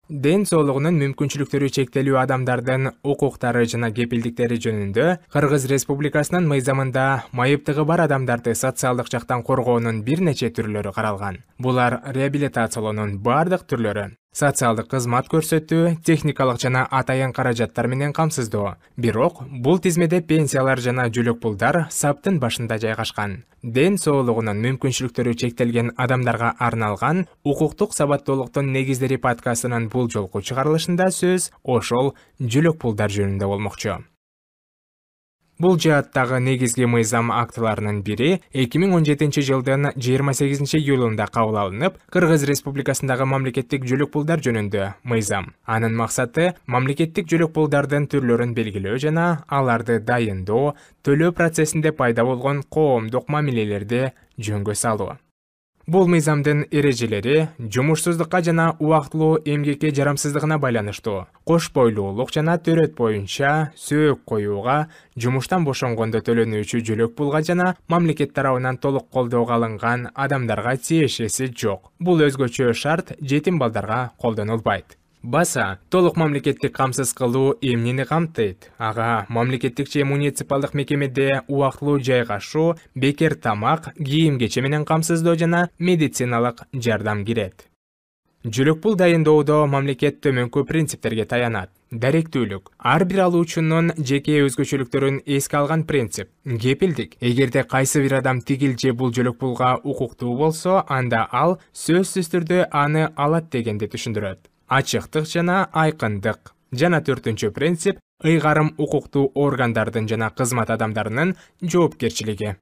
Ден соолугунун мүмкүнчүлүктөрү чектелүү адамдардын укуктары жана кепилдиктери жөнүндө Кыргыз Республикасынын мыйзамында майыптыгы бар адамдарды социалдык жактан коргоонун бир нече түрлөрү каралган. Булар реабилитациялоонун бардык түрлөрү, социалдык кызмат көрсөтүү, техникалык жана атайын каражаттар менен камсыздоо. Бирок бул тизмеде пенсиялар жана жүлөк пулдар саптын башында жайгашкан. Ден соолугунун мүмкүнчүлүктөрү чектелген адамдарга арналган укуктук сабаттуулуктун негиздери подкастынын бул жолку чыгарылышында сөз ошол жүлөк пулдар жөнүндө болмокчу. Бул жааттагы негизги мыйзам актыларынын бири 2017 жылдын 28 июлунда кабыл алынып, Кыргыз Республикасындагы мамлекеттик жүлөк пулдар жөнүндө мыйзам. Анын максаты мамлекеттик жүлөк пулдардын түрлөрүн белгилөө жана аларды дайындоо, төлөө процессинде пайда болгон коомдук мамилелерди жөнгө салуу. Бул мыйзамдын эрежелери жумушсуздукка жана убактылуу эмгекке жарамсыздыгына байланыштуу. Кош бойлуулук жана төрөт боюнча сөөк коюуга, жумуштан бошонгондо төлөнүүчү жүлөк пулга жана мамлекет тарабынан толук колдоого алынган адамдарга тиешеси жок. Бул өзгөчө шарт жетим балдарга колдонулбайт. Баса, толук мамлекеттик камсыз кылуу эмнени камтыйт? Ага мамлекеттик же муниципалдык мекемеде убактылуу жайгашуу, бекер тамак, кийим-кече менен камсыздоо жана медициналык жардам кирет. Жүлөк пул дайындоодо мамлекет төмөнкү принциптерге таянат. Даректүүлүк. Ар бир алуучунун жеке өзгөчөлүктөрүн эске алган принцип. Кепилдик. Эгерде кайсы бир адам тигил же бул жүлөк пулга укуктуу болсо, анда ал сөзсүз түрдө аны алат дегенди түшүндүрөт. Ачыктык жана айкындык. Жана төртүнчү принцип ыйгарым укуктуу органдардын жана кызмат адамдарынын жоопкерчилиги.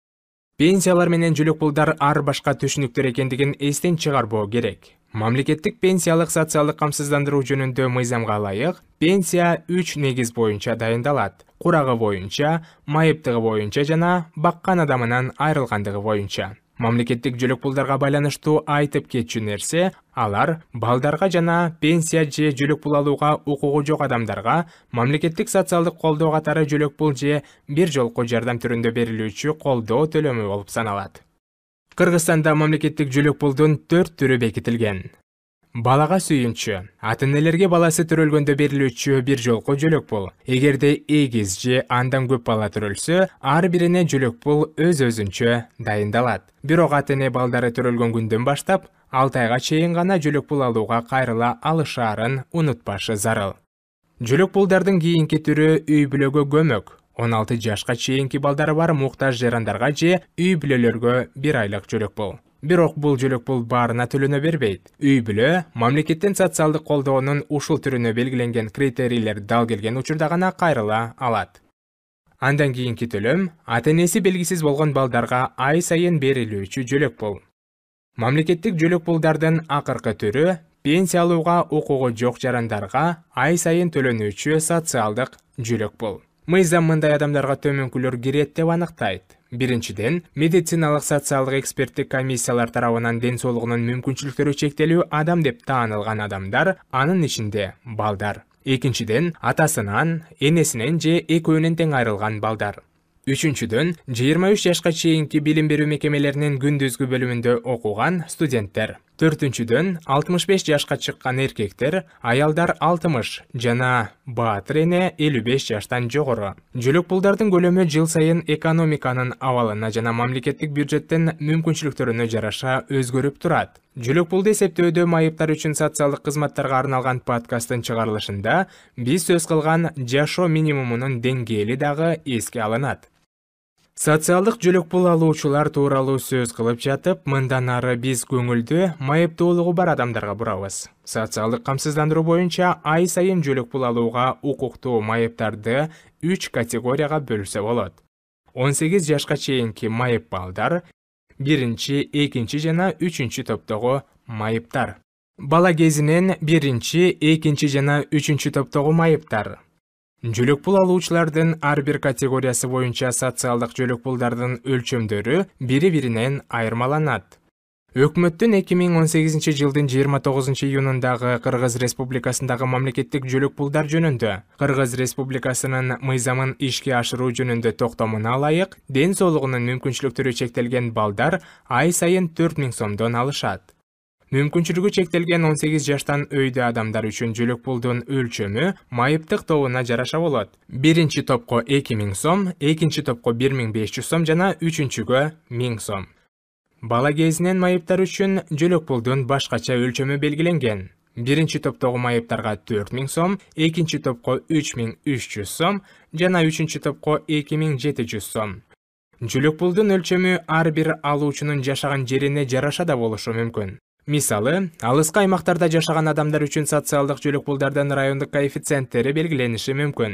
Пенсиялар менен жүлөк пулдар ар башка түшүнүктөр экендигин эстен чыгарбоо керек. Мамлекеттик пенсиялык социалдык камсыздандыруу жөнүндө мыйзамга ылайык, пенсия 3 негиз боюнча дайындалат. Курагы боюнча, майыптыгы боюнча жана баккан адамынан айрылгандыгы боюнча. Мамлекеттик жүлөк пулдарга байланыштуу айтып кетчү нерсе, алар балдарга жана пенсия же жүлөк пул алууга укугу жок адамдарга мамлекеттик социалдык колдоо катары жүлөк пул же бир жолку жардам түрүндө берилүүчү колдоо төлөмү болуп саналат. Кыргызстанда мамлекеттик жүлөк пулдун 4 түрү бекитилген. Балага сүйүнчү. Ата-энелерге баласы төрөлгөндө берилүүчү бир жолку жүлөк пул. Эгерде эгиз же андан көп бала төрөлсө, ар бирине жүлөк пул өз-өзүнчө дайындалат. Бирок ата-эне балдары төрөлгөн күндөн баштап 6 айга чейин гана жүлөк пул алууга кайрыла алышаарын унутпашы зарыл. Жүлөк пулдардын кийинки түрү үй бүлөгө көмөк. 16 жашка чейинки балдары бар муктаж жарандарга же үй бүлөлөргө 1 айлык жүлөк пул. Бирок бул жүлөк пул баарына төлөнө бербейт. Үй бүлө мамлекеттен социалдык колдоонун ушул түрүнө белгиленген критерийлер дал келген учурда гана кайрыла алат. Андан кийинки төлөм ата-энеси белгисиз болгон балдарга ай сайын берилүүчү жүлөк пул. Мамлекеттик жүлөк пулдардын акыркы түрү пенсия алууга укугу жок жарандарга ай сайын төлөнүүчү социалдык жүлөк пул. Мыйзам мындай адамдарга төмөнкүлөр кирет деп аныктайт. Биринчиден, медициналык социалдык эксперттик комиссиялар тарабынан ден соолугунун мүмкүнчүлүктөрү чектелүү адам деп таанылган адамдар, анын ичинде балдар. Экинчиден, атасынан, энесинен же экөөнөн тең айрылган балдар. Үчүнчүдөн, 23 жашка чейинки билим берүү мекемелеринин күндүзгү бөлүмүндө окуган студенттер. Төртүнчүдөн, 65 жашка чыккан эркектер, аялдар 60 жана баатыр эне 55 жаштан жогору. Жүлөк пулдардын көлөмү жыл сайын экономиканын абалына жана мамлекеттик бюджеттин мүмкүнчүлүктөрүнө жараша өзгөрүп турат. Жүлөк пулду эсептөөдө майыптар үчүн социалдык кызматтарга арналган подкасттын чыгарылышында биз сөз кылган жашоо минимумунун деңгээли дагы эске алынат. Социалдык жүлөк пул алуучулар тууралуу сөз кылып жатып, мындан ары биз көңүлдү майыптуулугу бар адамдарга бурабыз. Социалдык камсыздандыруу боюнча ай сайын жүлөк пул алууга укуктуу майыптарды 3 категорияга бөлсө болот. 18 жашка чейинки майып балдар, 1-чи, 2-чи жана 3-чү топтогу майыптар. Бала кезинен 1-чи, 2-чи жана 3-чү топтогу майыптар. Жүлөк пул алуучулардын ар бир категориясы боюнча социалдык жүлөк пулдардын өлчөмдөрү бири-биринен айырмаланат. Өкмөттүн 2018 жылдын 29 июнундагы Кыргыз Республикасындагы мамлекеттик жүлөк пулдар жөнүндө Кыргыз Республикасынын мыйзамын ишке ашыруу жөнүндө токтомуна ылайык, ден соолугунун мүмкүнчүлүктөрү чектелген балдар ай сайын 4000 сомдон алышат. Мүмкүнчүлүгү чектелген 18 жаштан өйдө адамдар үчүн жөлөк пулдун өлчөмү майыптык тобуна жараша болот. Биринчи топко 2000 сом, экинчи топко 1500 сом жана үчүнчүгө 1000 сом. Бала кезинен майыптар үчүн жөлөк пулдун башкача өлчөмү белгиленген. Биринчи топтогу майыптарга 4000 сом, экинчи топко 3300 сом жана үчүнчү топко 2700 сом. Жөлөк пулдун өлчөмү ар бир алуучунун жашаган жерине жараша да болушу мүмкүн. Мисалы, алыскы аймактарда жашаган адамдар үчүн социалдык жөлөк пулдардын райондук коэффициенттери белгилениши мүмкүн.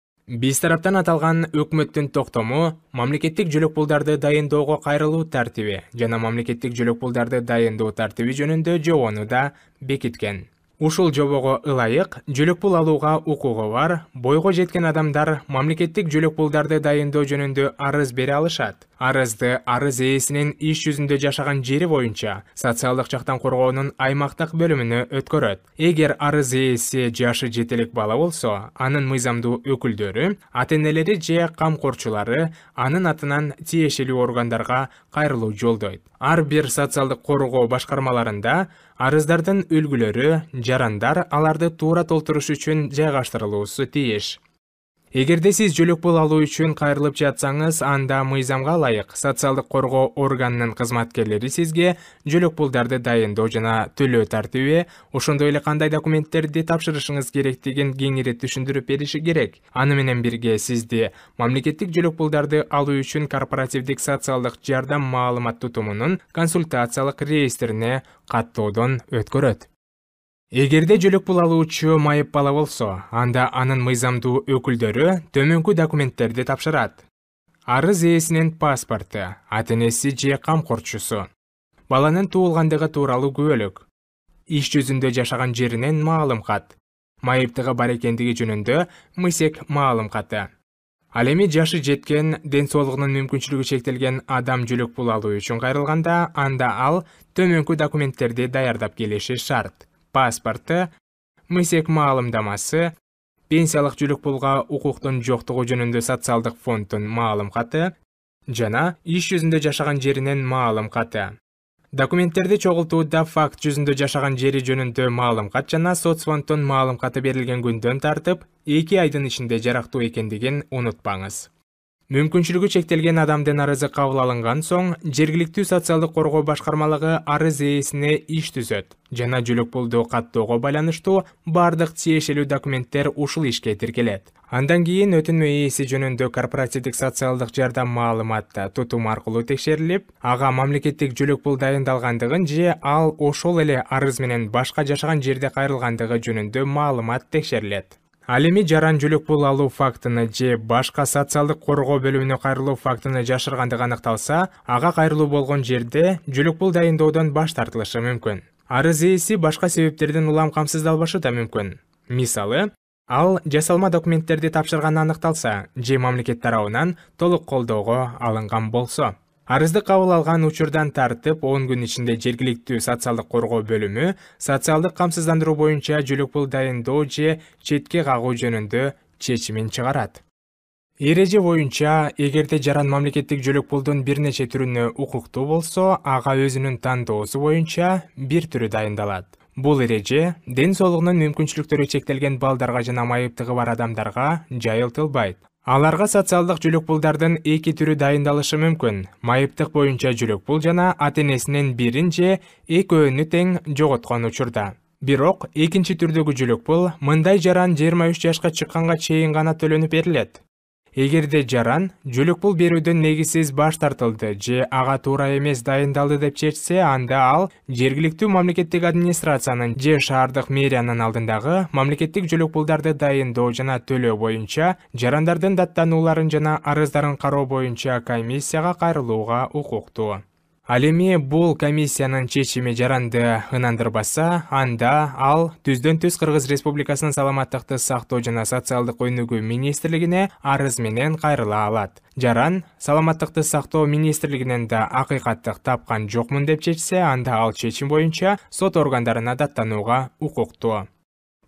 Биз тараптан аталган өкмөттүн токтому мамлекеттик жөлөк пулдарды дайындоого кайрылуу тартиби жана мамлекеттик жөлөк пулдарды дайындоо тартиби жөнүндө жобону да бекиткен. Ушул жобого ылайык жөлөк пул алууга укугу бар бойго жеткен адамдар мамлекеттик жөлөк пулдарды дайындоо жөнүндө арыз бере алышат. Арызды арыз ээсинин иш жүзүндө жашаган жери боюнча социалдык жактан коргоонун аймактык бөлүмүнө өткөрөт. Эгер арыз ээси жашы жетелик бала болсо, анын мыйзамдуу өкүлдөрү, ата-энелери же камкорчулары анын атынан тиешелүү органдарга кайрылуу жолдойт. Ар бир социалдык коргоо башкармаларында арыздардын үлгүлөрү, жарандар аларды туура толтуруш үчүн жайгаштырылуусу тийиш. Эгерде сиз жөлөк пул алуу үчүн кайрылып жатсаңыз, анда мыйзамга ылайык социалдык коргоо органынын кызматкерлери сизге жөлөк пулдарды дайындоо жана төлөө тартиби, ошондой эле кандай документтерди тапшырышыңыз керектигин кеңири түшүндүрүп бериши керек. Аны менен бирге сизди мамлекеттик жөлөк пулдарды алуу үчүн корпоративдик социалдык жардам маалымат тутумунун консультациялык реестрине каттоодон өткөрөт. Эгерде жөлөк пул алуучу майып бала болсо, анда анын мыйзамдуу өкүлдөрү төмөнкү документтерди тапшырат. Арыз ээсинин паспорту, ата-энеси же камкорчусу, баланын туулгандыгы тууралуу күбөлүк, иш жүзүндө жашаган жеринен маалым кат, майыптыгы бар экендиги жөнүндө мысек маалым каты. Ал эми жашы жеткен, ден соолугунун мүмкүнчүлүгү чектелген адам жөлөк пул алуу үчүн кайрылганда, анда ал төмөнкү документтерди даярдап келиши шарт. Паспорту, мысек маалымдамасы, пенсиялык жөлөк пулга укуктун жоктугу жөнүндө социалдык фонддун маалым каты жана иш жүзүндө жашаган жеринен маалым каты. Документтерди чогултууда факт жүзүндө жашаган жери жөнүндө маалым кат жана соцфонддун маалым каты берилген күндөн тартып 2 айдын ичинде жарактуу экендигин унутпаңыз. Мүмкүнчүлүгү чектелген адамдын арызы кабыл алынган соң, жергиликтүү социалдык коргоо башкармалыгы арыз ээсине иш түзөт жана жөлөк пулду каттоого байланыштуу бардык тиешелүү документтер ушул ишке тиркелет. Андан кийин өтүнмө ээси жөнүндө корпоративдик социалдык жардам маалыматты тутум аркылуу текшерилип, ага мамлекеттик жөлөк пул дайындалгандыгын же ал ошол эле арыз менен башка жашаган жерде кайрылгандыгы жөнүндө маалымат текшерилет. Ал эми жаран жөлөк пул алуу фактыны же башка социалдык коргоо бөлүмүнө кайрылуу фактыны жашыргандыгы аныкталса, ага кайрылуу болгон жерде жөлөк пул дайындоодон баш тартылышы мүмкүн. Арыз ээси башка себептерден улам камсыздалбашы да мүмкүн. Мисалы, ал жасалма документтерди тапшырганы аныкталса, же мамлекет тарабынан толук колдоого алынган болсо. Арызды кабыл алган учурдан тартып 10 күн ичинде жергиликтүү социалдык коргоо бөлүмү социалдык камсыздандыруу боюнча жөлөк пул дайындоо же четке кагуу жөнүндө чечимин чыгарат. Эреже боюнча, эгерде жаран мамлекеттик жөлөк пулдун бир нече түрүнө укуктуу болсо, ага өзүнүн тандоосу боюнча бир түрү дайындалат. Бул эреже ден соолугунун мүмкүнчүлүктөрү чектелген балдарга жана майыптыгы бар адамдарга жайылтылбайт. Аларга социалдык жөлөк пулдардын 2 түрү дайындалышы мүмкүн. Майыптык боюнча жөлөк пул жана ата-энесинин бирин же экөөнү тең жоготкон учурда. Бирок, экинчи түрдөгү жөлөк пул мындай жаран 23 жашка чыкканга чейин гана төлөнүп берилет. Эгерде жаран жөлөк пул берүүдөн негизсиз баш тартылды же ага туура эмес дайындалды деп чечсе, анда ал жергиликтүү мамлекеттик администрациянын же шаардык мэриянын алдындагы мамлекеттик жөлөк пулдарды дайындоо жана төлөө боюнча жарандардын даттанууларын жана арыздарын кароо боюнча комиссияга кайрылууга укуктуу. Ал эми бул комиссиянын чечими жаранды ынандырбаса, анда ал түздөн-түз Кыргыз Республикасынын саламаттыкты сактоо жана социалдык өнүгүү министрлигине арыз менен кайрыла алат. Жаран саламаттыкты сактоо министрлигинен да акыйкаттык тапкан жокмун деп чечсе, анда ал чечим боюнча сот органдарына даттанууга укуктуу.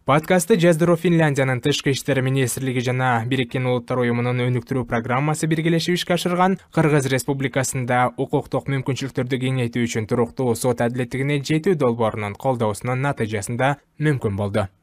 Подкастты жаздыруу Финляндиянын тышкы иштер министрлиги жана Бириккен Улуттар уюмунун өнүктүрүү программасы биргелешип ишке ашырган. Кыргыз Республикасында укуктук мүмкүнчүлүктөрдү кеңейтүү үчүн туруктуу сот адилеттигине жетүү долбоорунун колдоосунун натыйжасында мүмкүн болду.